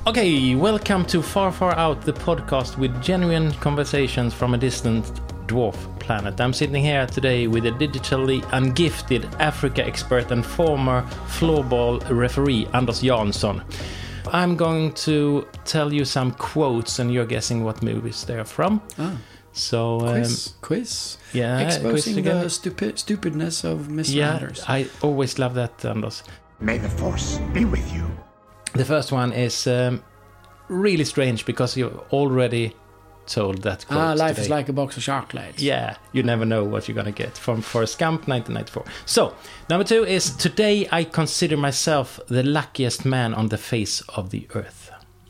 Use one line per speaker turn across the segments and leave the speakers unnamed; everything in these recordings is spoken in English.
Okay, welcome to Far Far Out, the podcast with genuine conversations from a distant dwarf planet. I'm sitting here today with a digitally ungifted Africa expert and former floorball referee, Anders Jansson. I'm going to tell you some quotes and you're guessing what movies they're from. So
quiz.
Yeah,
exposing
quiz
the stupidness of Mr. Anders.
I always love that, Anders.
May the force be with you.
The first one is really strange because you already told that quote
Life
today.
is like a box of chocolates.
Yeah, you never know what you're gonna get from Forrest Gump, 1994. So, number 2 is, today I consider myself the luckiest man on the face of the earth.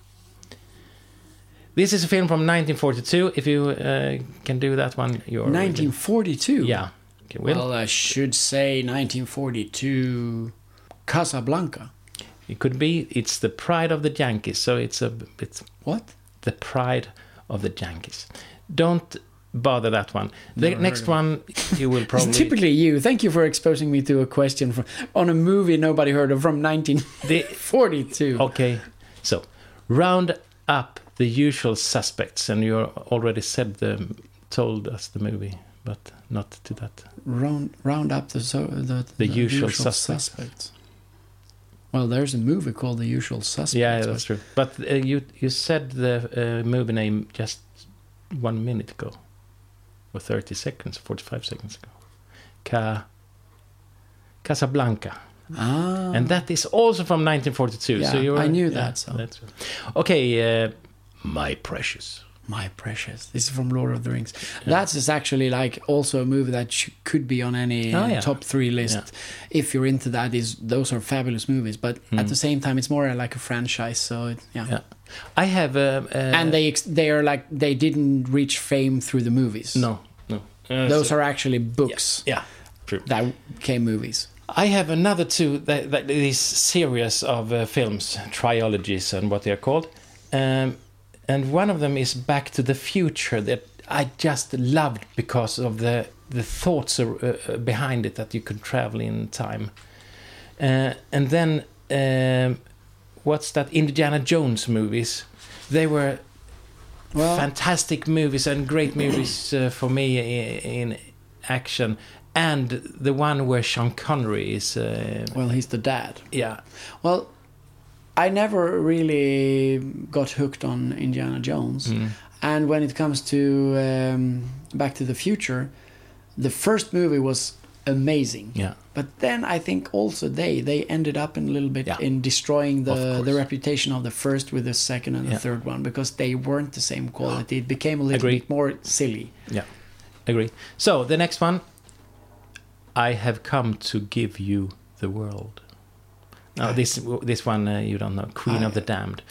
This is a film from 1942. If you can do that one, you're...
1942?
Yeah. Okay,
well, I should say 1942 Casablanca.
It could be. It's the pride of the Yankees, so it's
What?
The pride of the Yankees. Don't bother that one. The next one you will probably...
It's typically you. Thank you for exposing me to a question on a movie nobody heard of from 1942.
Okay, so round up the usual suspects, and you already told us the movie, but not to that.
Round up the
usual suspects.
Well, there's a movie called The Usual Suspects.
Yeah, that's true. But you said the movie name just 1 minute ago, or 30 seconds, 45 seconds ago. Casablanca. And that is also from 1942.
Yeah,
so
I knew that. So.
That's okay, My Precious.
My Precious. This is from Lord of the Rings. Yeah. That is actually like also a movie that could be on any top 3 list. Yeah. If you're into that, those are fabulous movies. But at the same time, it's more like a franchise. So
I have
and they are like, they didn't reach fame through the movies.
No.
Those are actually books.
Yeah, true.
That became movies.
I have another 2 that this series of films, trilogies and what they are called. And one of them is Back to the Future that I just loved because of the thoughts behind it, that you could travel in time. And then, what's that? Indiana Jones movies. They were fantastic movies and great movies for me in action. And the one where Sean Connery is...
he's the dad.
Yeah.
Well... I never really got hooked on Indiana Jones. And when it comes to Back to the Future, the first movie was amazing.
Yeah.
But then I think also they ended up in a little bit in destroying the reputation of the first with the second and the third one, because they weren't the same quality. It became a little bit more silly.
Yeah, agree. So the next one, I have come to give you the world. No, this one you don't know. Queen of the Damned.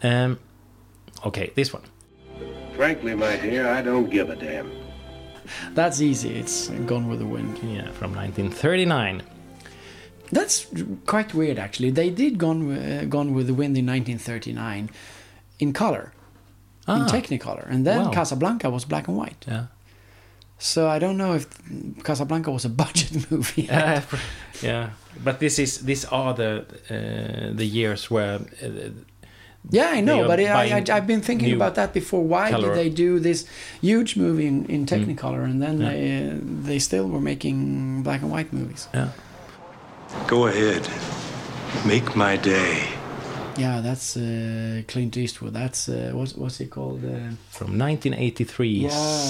Okay, this one.
Frankly, my dear, I don't give a damn.
That's easy. It's Gone with the Wind.
Yeah, from 1939.
That's quite weird, actually. They did Gone with the Wind in 1939 in color, in Technicolor, and then Casablanca was black and white.
Yeah.
So I don't know if Casablanca was a budget movie.
Yeah, but these are the years where.
I know, but I've been thinking about that before. Why did they do this huge movie in Technicolor, and then they still were making black and white movies?
Yeah.
Go ahead, make my day.
Yeah, that's Clint Eastwood. That's what's he called?
From 1983.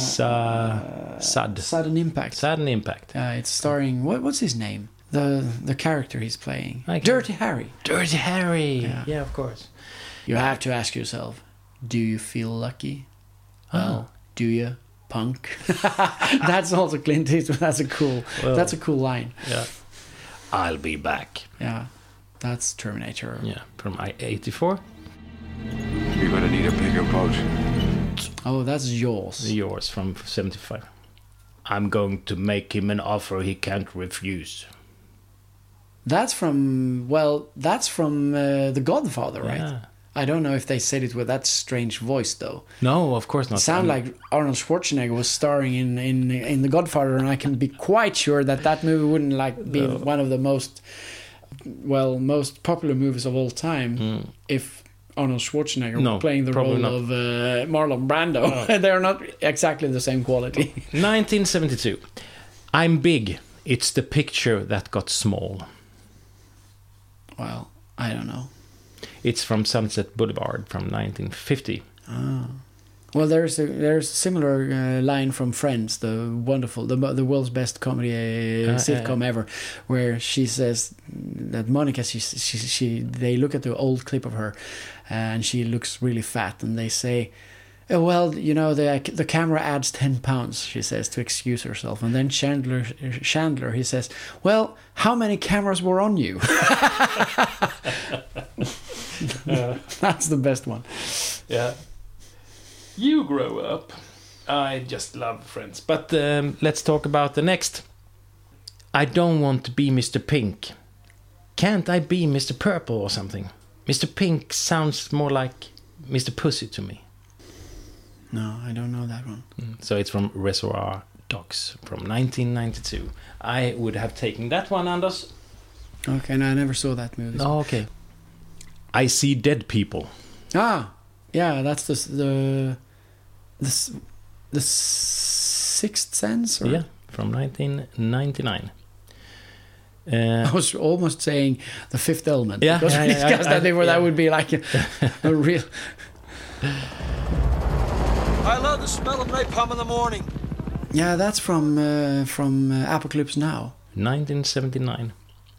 Sudden Impact.
Sudden Impact.
It's starring what's his name? The character he's playing. Dirty Harry.
Dirty Harry. Yeah, of course.
You have to ask yourself, do you feel lucky? Well, do you, punk? That's also Clint Eastwood. That's a cool line.
Yeah. I'll be back.
Yeah. That's Terminator.
Yeah, from 84.
You're gonna need a bigger boat.
Oh, that's Jaws.
Yours from 75. I'm going to make him an offer he can't refuse.
That's from The Godfather, right?
Yeah.
I don't know if they said it with that strange voice, though.
No, of course not.
It like Arnold Schwarzenegger was starring in The Godfather, and I can be quite sure that movie wouldn't be one of the most popular movies of all time if Arnold Schwarzenegger playing the role of Marlon Brando. They're not exactly the same quality.
1972. I'm big. It's the picture that got small.
Well, I don't know.
It's from Sunset Boulevard from 1950.
Well, there's a similar line from Friends, the world's best comedy sitcom ever, where she says that Monica, they look at the old clip of her, and she looks really fat, and they say, oh, well, you know, the camera adds 10 pounds, she says, to excuse herself. And then Chandler, he says, well, how many cameras were on you? That's the best one.
Yeah. You grow up. I just love Friends. But let's talk about the next. I don't want to be Mr. Pink. Can't I be Mr. Purple or something? Mr. Pink sounds more like Mr. Pussy to me.
No, I don't know that one.
So it's from Reservoir Dogs from 1992. I would have taken that one, Anders.
Okay, no, I never saw that movie.
Oh, okay. I See Dead People.
Ah, yeah, that's the Sixth Sense? Or?
Yeah, from 1999.
I was almost saying The Fifth Element.
Yeah,
because we discussed that before. That would be like a real...
I love the smell of napalm in the morning.
Yeah, that's from Apocalypse Now.
1979.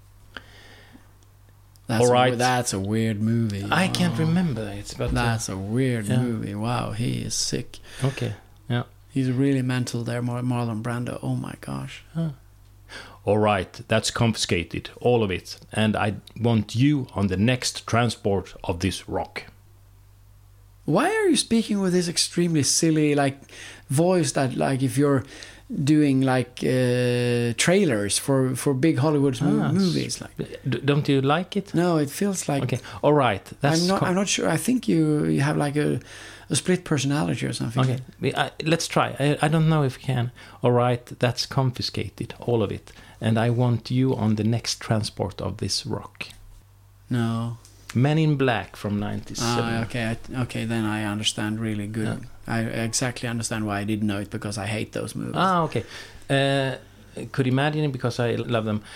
All right. That's a weird movie.
I can't remember it, but
that's a weird movie. Wow, he is sick.
Okay, yeah.
He's really mental there, Marlon Brando. Oh my gosh.
Huh. All right, that's confiscated, all of it, and I want you on the next transport of this rock.
Why are you speaking with this extremely silly voice that if you're doing trailers for big Hollywood movies?
Don't you like it?
No, it feels like...
Okay, all right.
I'm not sure. I think you have a split personality or something.
Okay, let's try. I don't know if we can. All right, that's confiscated, all of it. And I want you on the next transport of this rock.
No.
Men in Black from 1997.
Okay, then I understand really good. Yeah. I exactly understand why I didn't know it, because I hate those movies.
Okay. Could imagine it because I love them.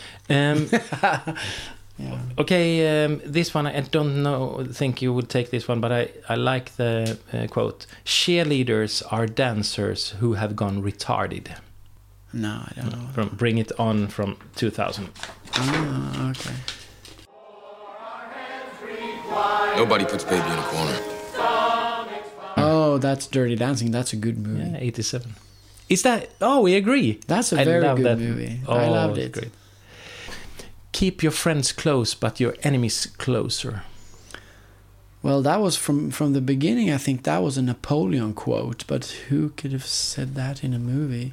Yeah.
Okay, this one I don't think you would take this one, but I like the quote. Cheerleaders are dancers who have gone retarded.
No, I don't know.
From Bring It On from 2000.
Oh, okay.
Nobody puts baby in a corner.
Oh, that's Dirty Dancing. That's a good movie.
Yeah, 87. Is that... Oh, we agree.
That's a very good movie.
Oh,
I loved it.
Great. Keep your friends close, but your enemies closer.
Well, that was from the beginning. I think that was a Napoleon quote, but who could have said that in a movie?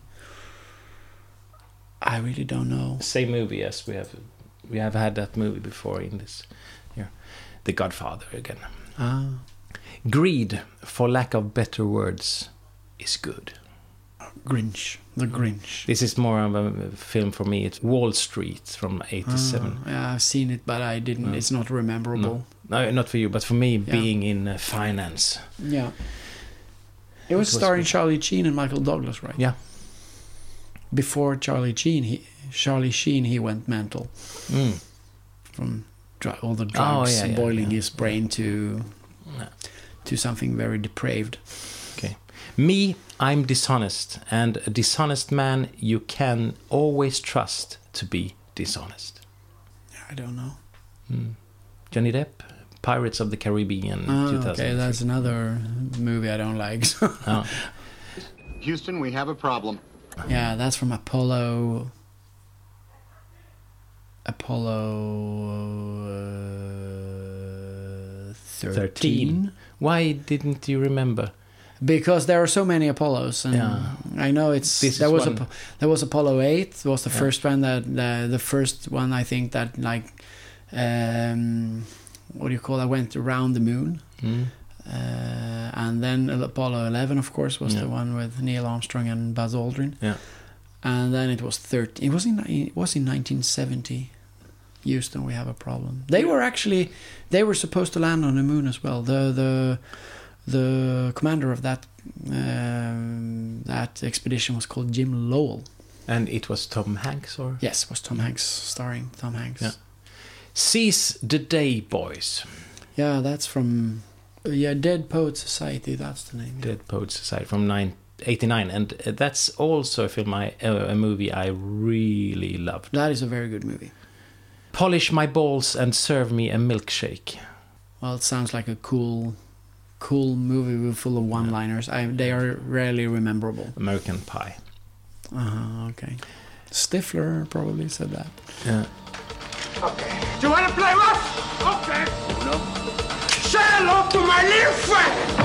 I really don't know.
Same movie as we have had that movie before in this here. The Godfather again. Greed, for lack of better words, is good.
Grinch. The Grinch.
This is more of a film for me. It's Wall Street from 87.
Yeah, I've seen it, but I didn't. It's not memorable.
No, not for you, but for me, being in finance.
Yeah. It was starring Charlie Sheen and Michael Douglas, right?
Yeah.
Before Charlie Sheen, he went mental. From all the drugs boiling his brain to something very depraved.
Okay. Me, I'm dishonest, and a dishonest man you can always trust to be dishonest.
I don't know.
Johnny Depp, Pirates of the Caribbean, 2000.
Okay, that's another movie I don't like.
Houston, we have a problem.
Yeah, that's from Apollo 13.
Why didn't you remember?
Because there are so many Apollos, and I know there was Apollo 8. It was the first one the first one I think that what do you call that, went around the moon. And then Apollo 11, of course, was the one with Neil Armstrong and Buzz Aldrin.
Yeah.
And then it was 13. It was in 1970. Houston, we have a problem. They were supposed to land on the moon as well. The commander of that expedition was called Jim Lowell.
And it was Tom Hanks, or?
Yes, it was Tom Hanks, starring Tom Hanks.
Yeah. Seize the Day, Boys.
Yeah, that's from Dead Poets Society. That's the name.
Dead Poets Society from 1989, and that's also a movie I really loved.
That is a very good movie.
Polish my balls and serve me a milkshake.
Well, it sounds like a cool movie full of one-liners. They are rarely rememberable.
American Pie.
Okay. Stifler probably said that.
Yeah.
Okay. Do you want to play rough? Okay. No. Say hello to my little friend!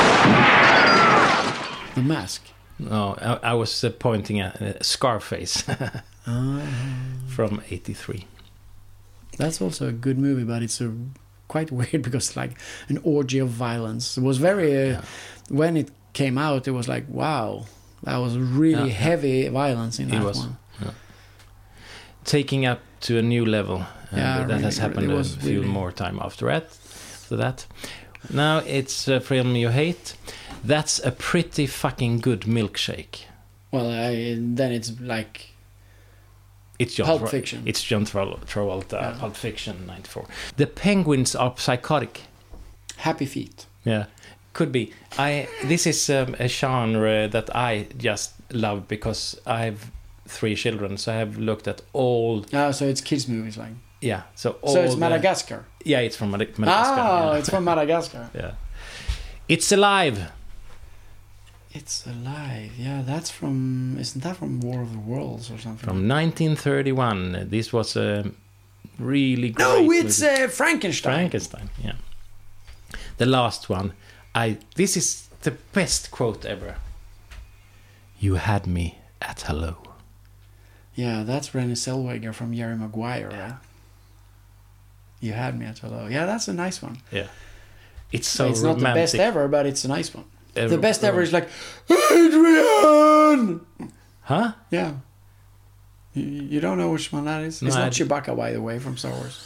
The Mask.
No, I was pointing at Scarface from 1983.
That's also a good movie, but it's quite weird because it's like an orgy of violence. It was very... when it came out, it was like, wow, that was really heavy violence in that one. Yeah.
Taking up to a new level. That really, has happened a few more time after that. Now it's a film you hate. That's a pretty fucking good milkshake. Well,
then it's like...
It's
Pulp Fiction.
It's John Travolta, Pulp Fiction, 94. The penguins are psychotic.
Happy Feet.
Yeah, could be. This is a genre that I just love because I have 3 children, so I have looked at all...
so it's kids' movies, like...
Yeah, so
it's Madagascar?
Yeah, it's from Madagascar.
Oh, it's from Madagascar.
Yeah. It's Alive.
It's Alive. Yeah, that's from... Isn't that from War of the Worlds or something?
From 1931. This was a really great
No, it's Frankenstein.
Frankenstein, yeah. The last one. This is the best quote ever. You had me at hello.
Yeah, that's Renée Zellweger from Jerry Maguire, right? You had me at hello. Yeah, that's a nice one.
Yeah. It's so
It's
romantic.
not the best ever, but it's a nice one. The best ever is like, Adrian!
Huh?
Yeah. You don't know which one that is? It's not Chewbacca, by the way, from Star Wars.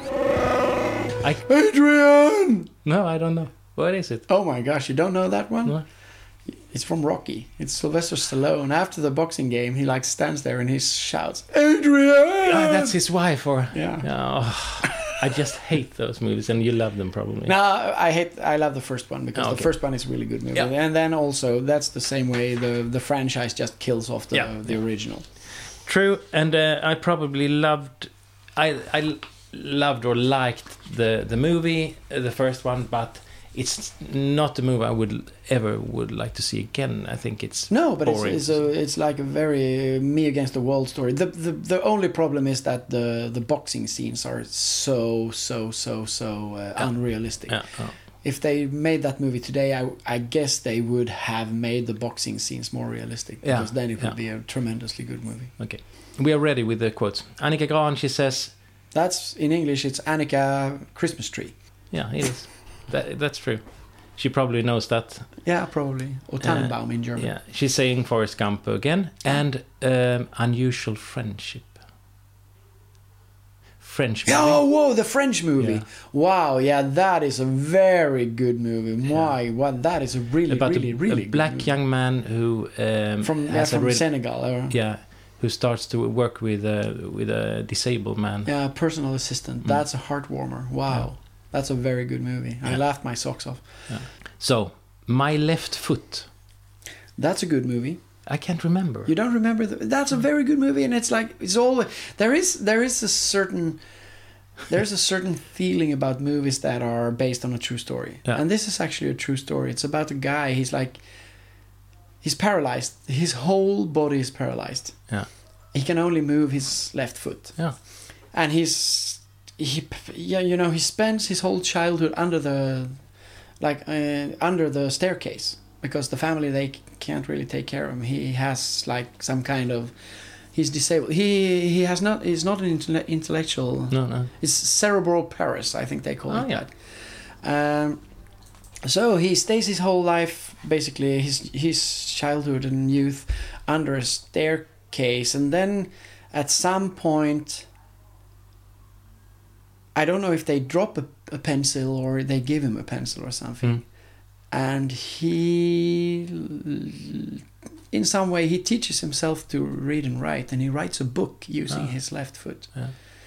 Adrian!
No, I don't know. What is it?
Oh my gosh, you don't know that one?
No.
It's from Rocky. It's Sylvester Stallone. After the boxing game, he like stands there and he shouts, Adrian!
That's his wife, or...
Yeah.
Oh, I just hate those movies, and you love them probably.
No, I love the first one because the first one is a really good movie. Yeah. And then also, that's the same way the franchise just kills off the original.
True, and I probably loved... I loved or liked the movie, the first one, but it's not a movie I would like to see again. I think it's boring.
It's like a very me against the world story. The only problem is that the boxing scenes are so unrealistic. Yeah. Oh. If they made that movie today, I guess they would have made the boxing scenes more realistic, because then it would be a tremendously good movie.
Okay, we are ready with the quotes. Annika Grahn, she says...
That's, in English, it's Annika Christmas Tree.
Yeah, it is. That's true. She probably knows that.
Yeah, probably. Or Tannenbaum in German.
Yeah, she's saying Forrest Gump again. And Unusual Friendship. French movie.
Oh, whoa, the French movie. Yeah. Wow, yeah, that is a very good movie. Why? That is a really good movie.
Black young man who...
from Senegal. Or...
Yeah, who starts to work with a disabled man.
Yeah, personal assistant. That's a heartwarmer. Wow. Yeah. That's a very good movie. I laughed my socks off.
Yeah. So, My Left Foot.
That's a good movie.
I can't remember.
You don't remember? That's a very good movie, and it's like it's all there is a certain feeling about movies that are based on a true story. Yeah. And this is actually a true story. It's about a guy. He's paralyzed. His whole body is paralyzed. Yeah. He can only move his left foot. Yeah. And he spends his whole childhood under the staircase, because the family, they can't really take care of him. He has like some kind of... He's disabled. He's not an intellectual... No. It's cerebral Paris, I think they call it that. So he stays his whole life, basically, his childhood and youth, under a staircase. And then at some point... I don't know if they drop a pencil or they give him a pencil or something. And he, in some way, he teaches himself to read and write, and he writes a book using his left foot. Yeah.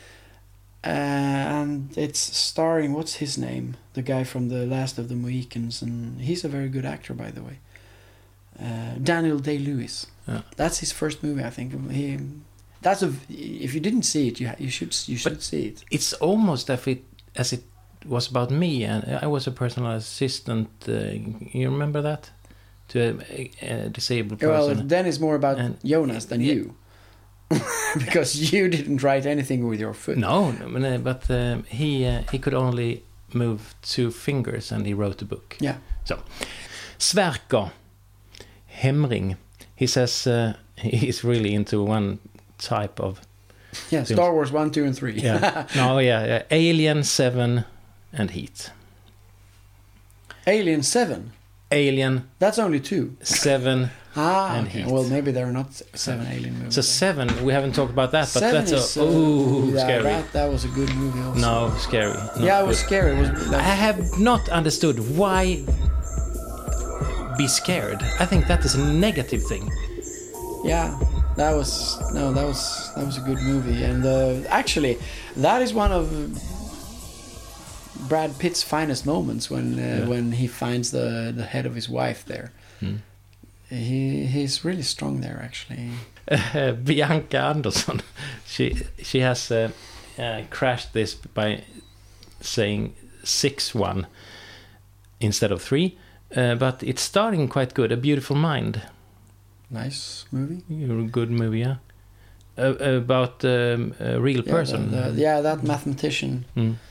And it's starring, what's his name? The guy from The Last of the Mohicans, and he's a very good actor, by the way. Daniel Day-Lewis. Yeah. That's his first movie, I think. If you didn't see it, you should see it.
It's almost as it was about me, and I was a personal assistant. You remember that? To a disabled person.
Well, then it's more about Jonas than you. Because you didn't write anything with your foot.
No, but he could only move 2 fingers, and he wrote a book.
Yeah.
So, Sverker Hemring, he says he's really into one type of...
Yeah, films. Star Wars 1, 2 and 3.
Yeah. No, yeah. Alien, 7 and Heat.
Alien 7?
Alien.
That's only 2.
7 and
okay.
Heat.
Well, maybe there are not 7 alien movies.
So 7, we haven't talked about that, but that's
scary. That was a good movie also.
No, scary.
It was scary.
I have not understood why be scared. I think that is a negative thing.
Yeah, that was a good movie, and actually, that is one of Brad Pitt's finest moments when he finds the head of his wife there. He's really strong there, actually.
Bianca Andersson, she has crashed this by saying 6-1 instead of 3, but it's starting quite good. A Beautiful Mind.
Nice movie.
Good movie, yeah. About a real person.
That mathematician.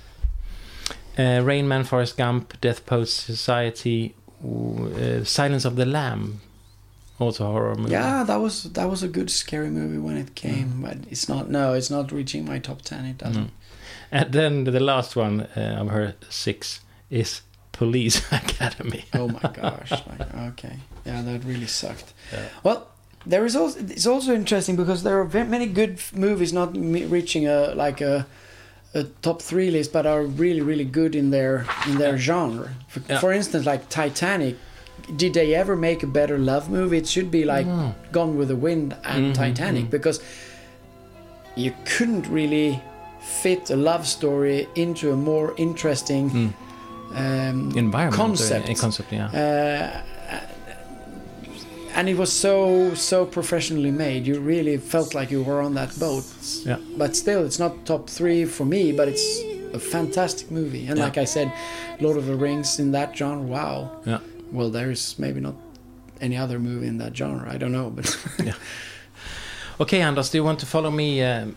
Rain Man, Forrest Gump, Death Post Society, Silence of the Lamb, also a horror movie.
Yeah, that was a good scary movie when it came, but it's not reaching my top 10. It doesn't.
And then the last one of her 6 is Police Academy.
Oh my gosh! Okay, yeah, that really sucked. Yeah. Well, it's also interesting because there are very many good movies not reaching a top 3 list, but are really, really good in their genre. For instance, like Titanic. Did they ever make a better love movie? It should be like Gone with the Wind and Titanic, because you couldn't really fit a love story into a more interesting
environment
concept. And it was so professionally made. You really felt like you were on that boat. Yeah. But still, it's not top 3 for me, but it's a fantastic movie. And like I said, Lord of the Rings in that genre, wow. Yeah. Well, there's maybe not any other movie in that genre. I don't know, but...
yeah. Okay, Anders, do you want to follow me on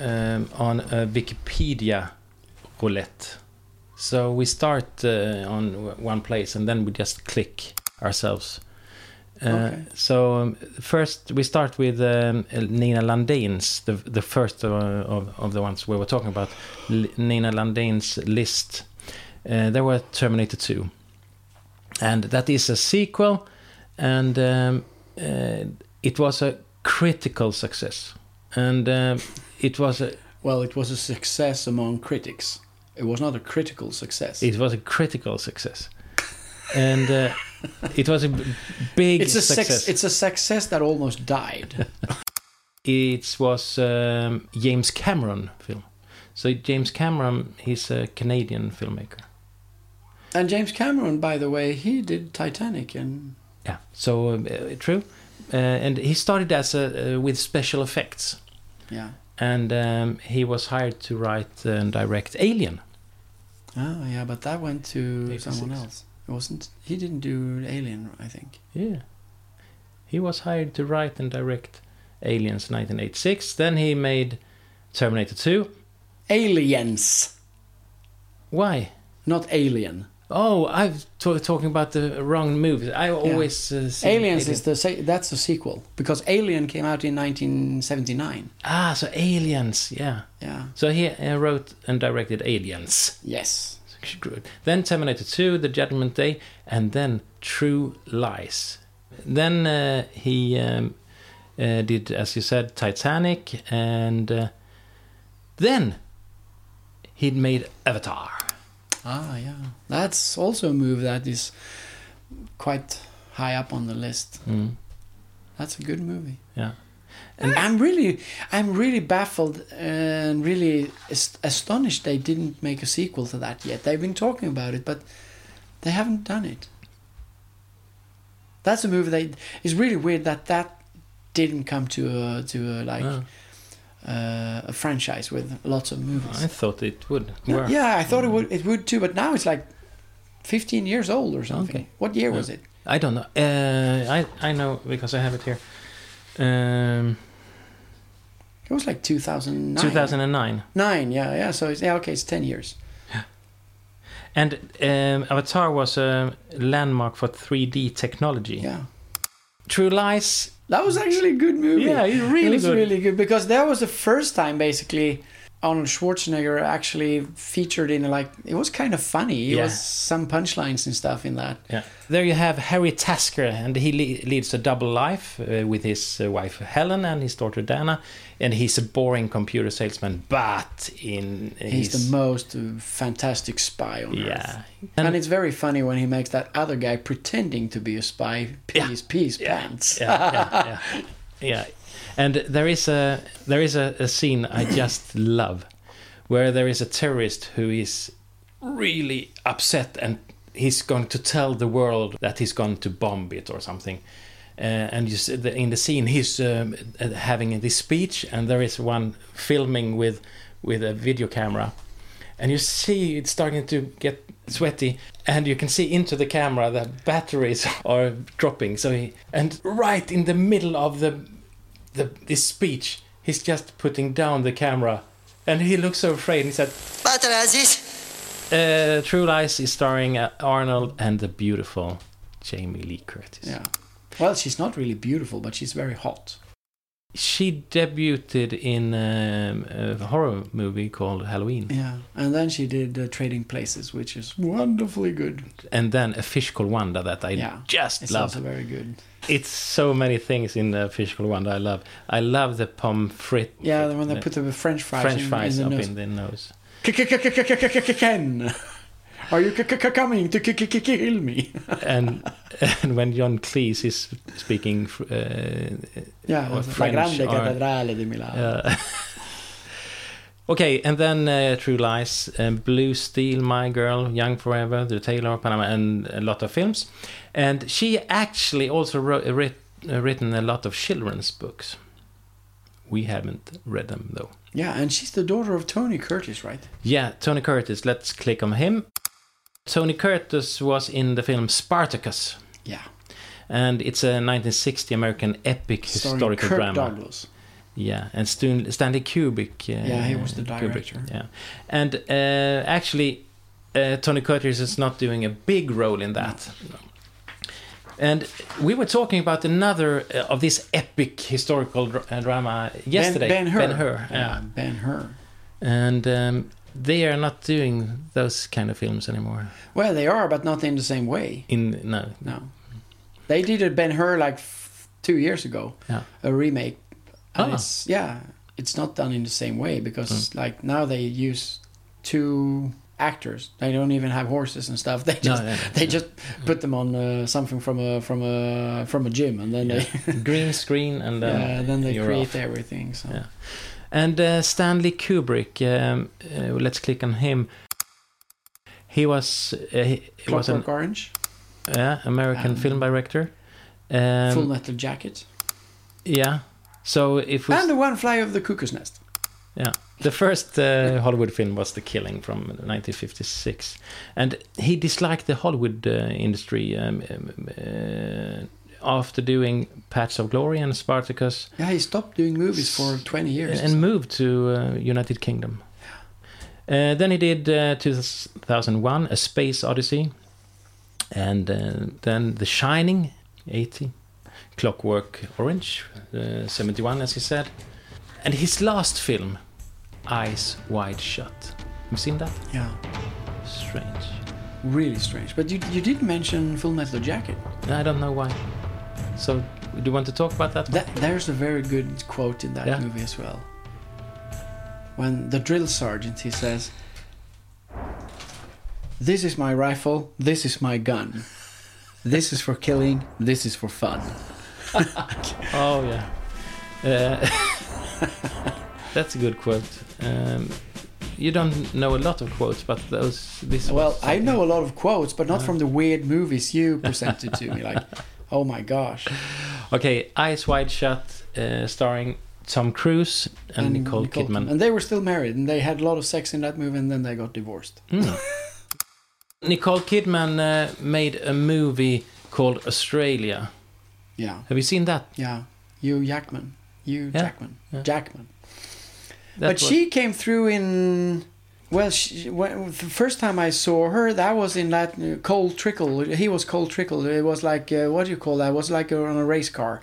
Wikipedia roulette? So we start on one place and then we just click ourselves. Okay. So first we start with Nina Landin's, the first of the ones we were talking about, Nina Landin's list. There were Terminator 2. And that is a sequel, and it was a critical success. And it was a...
Well, it was a success among critics. It was not a critical success.
It was a critical success. And it was a big success.
It's a success that almost died.
It was James Cameron film. So James Cameron, he's a Canadian filmmaker.
And James Cameron, by the way, he did Titanic. And
yeah, so true. And he started as with special effects.
Yeah.
And he was hired to write and direct Alien.
Oh, yeah, but that went to someone else. It wasn't. He didn't do Alien, I think.
Yeah. He was hired to write and direct Aliens 1986. Then he made Terminator 2.
Aliens.
Why?
Not Alien.
Oh, I'm talking about the wrong movie. I always see
Aliens that's a sequel, because Alien came out in 1979.
Ah, so Aliens, yeah.
Yeah.
So he wrote and directed Aliens.
Yes.
Then Terminator 2, The Judgment Day, and then True Lies. Then he did, as you said, Titanic, and then he'd made Avatar.
Ah, yeah. That's also a movie that is quite high up on the list. That's a good movie.
Yeah.
And I'm really baffled and really astonished they didn't make a sequel to that yet. They've been talking about it, but they haven't done it. That's a movie it's really weird that didn't come to a franchise with lots of movies.
I thought it would.
Yeah, I thought it would too, but now it's like 15 years old or something. Okay. What year was it?
I don't know. I know because I have it here.
It was like 2009.
2009.
9, yeah. So it's 10 years.
Yeah. And Avatar was a landmark for 3D technology.
Yeah.
True Lies.
That was actually a good movie.
Yeah, it was
really good because that was the first time basically Arnold Schwarzenegger actually featured in it was kind of funny. It was some punchlines and stuff in that.
Yeah. There you have Harry Tasker, and he leads a double life with his wife Helen and his daughter Dana, and he's a boring computer salesman, but he's
the most fantastic spy on Earth.
Yeah.
And it's very funny when he makes that other guy pretending to be a spy peace pants.
Yeah. And there is a scene I just love, where there is a terrorist who is really upset and he's going to tell the world that he's going to bomb it or something. And you see in the scene he's having this speech, and there is one filming with a video camera, and you see it's starting to get sweaty, and you can see into the camera that batteries are dropping. And right in the middle of this speech, he's just putting down the camera, and he looks so afraid. And he said, True Lies is starring Arnold and the beautiful Jamie Lee Curtis.
Yeah. Well, she's not really beautiful, but she's very hot.
She debuted in a horror movie called Halloween.
Yeah, and then she did Trading Places, which is wonderfully good.
And then A Fish Called Wanda that I just
it's
love.
Also very good.
It's so many things in A Fish Called Wanda I love. I love the pommes frites.
Yeah, when they put the French fries
in
the
the nose.
Ken, are you coming to kill me?
and when John Cleese is speaking French.
La grande cattedrale di Milano.
Okay, and then True Lies, Blue Steel, My Girl, Young Forever, The Tailor of Panama, and a lot of films. And she actually also written a lot of children's books. We haven't read them, though.
Yeah, and she's the daughter of Tony Curtis, right?
Yeah, Tony Curtis. Let's click on him. Tony Curtis was in the film Spartacus.
Yeah.
And it's a 1960 American epic historical
Kirk
drama.
Douglas.
Yeah, and Stanley Kubrick.
He was the director.
Yeah, and actually, Tony Curtis is not doing a big role in that. No. And we were talking about another of this epic historical drama yesterday.
Ben-Hur.
Yeah,
Ben-Hur.
And they are not doing those kind of films anymore.
Well, they are, but not in the same way.
No.
They did a Ben-Hur like 2 years ago. Yeah. A remake. And it's not done in the same way because like now they use 2 actors. They don't even have horses and stuff. They just put them on something from a gym, and then they
green screen, and
then they create
off.
everything. So.
Yeah. And Stanley Kubrick, let's click on him. He was
Clockwork Orange.
Yeah, American film director.
Full Metal Jacket.
Yeah. So
and the One Fly Over the Cuckoo's Nest.
Yeah. The first Hollywood film was The Killing from 1956. And he disliked the Hollywood industry after doing Patch of Glory and Spartacus.
Yeah, he stopped doing movies for 20 years.
And moved to United Kingdom. Then he did 2001, A Space Odyssey. And then The Shining, 80. Clockwork Orange, 71, as he said. And his last film, Eyes Wide Shut. Have you seen that?
Yeah.
Strange.
Really strange. But you did mention Full Metal Jacket.
I don't know why. So, do you want to talk about that?
There's a very good quote in that movie as well. When the drill sergeant, he says, This is my rifle. This is my gun. This is for killing. This is for fun.
Oh yeah, that's a good quote. You don't know a lot of quotes, but
I know a lot of quotes, but not from the weird movies you presented to me. Like, oh my gosh.
Okay, Eyes Wide Shut, starring Tom Cruise and Nicole Kidman.
And they were still married, and they had a lot of sex in that movie, and then they got divorced.
Nicole Kidman made a movie called Australia.
Yeah.
Have you seen that?
Yeah. Jackman. Jackman.
But
she came through in... Well, the first time I saw her, that was in that Cole Trickle. He was Cole Trickle. It was like, what do you call that? It was like on a race car.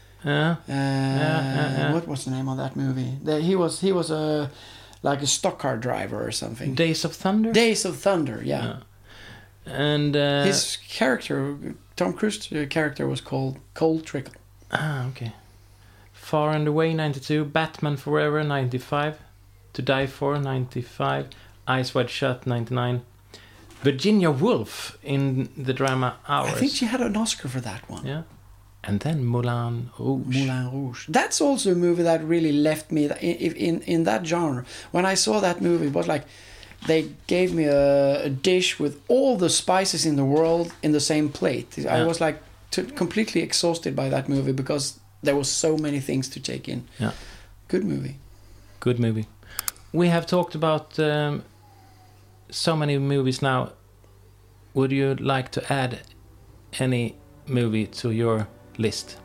What was the name of that movie? He was like a stock car driver or something.
Days of Thunder?
Days of Thunder, yeah.
And
his character, Tom Cruise's character, was called Cole Trickle.
Okay. Far and Away, 92. Batman Forever, 95. To Die For, 95. Eyes Wide Shut, 99. Virginia Woolf in the drama Hours.
I think she had an Oscar for that one.
Yeah. And then Moulin Rouge.
That's also a movie that really left me in that genre. When I saw that movie, it was like they gave me a dish with all the spices in the world in the same plate. I was like completely exhausted by that movie because there was so many things to take in.
Yeah.
Good movie.
Good movie. We have talked about so many movies now. Would you like to add any movie to your list?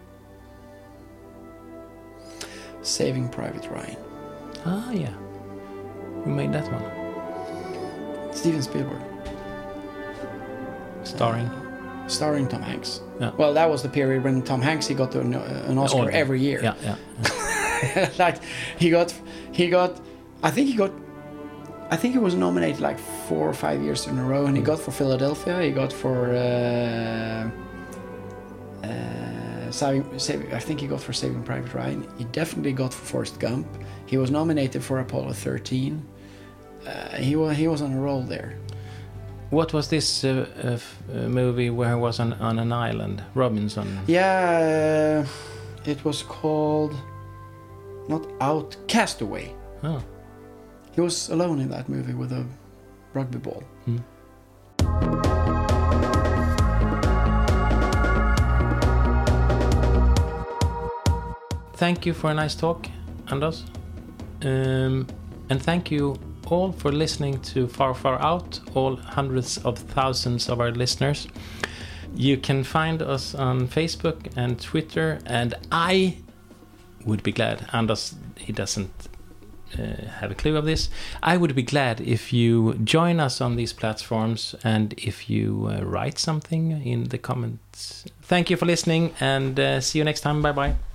Saving Private Ryan.
Ah, yeah. Who made that one?
Steven Spielberg. Starring Tom Hanks.
Yeah.
Well, that was the period when Tom Hanks he got an Oscar every year.
Yeah.
Like he got. I think he was nominated like 4 or 5 years in a row, and he got for Philadelphia. He got for. I think he got for Saving Private Ryan. He definitely got for Forrest Gump. He was nominated for Apollo 13. He was on a roll there.
What was this movie where he was on an island? Robinson.
Yeah, it was called Castaway.
Oh.
He was alone in that movie with a rugby ball.
Thank you for a nice talk, Anders. And thank you all for listening to Far Far Out, all hundreds of thousands of our listeners. You can find us on Facebook and Twitter, and I would be glad, Anders, he doesn't have a clue of this, I would be glad if you join us on these platforms and if you write something in the comments. Thank you for listening, and see you next time. Bye bye.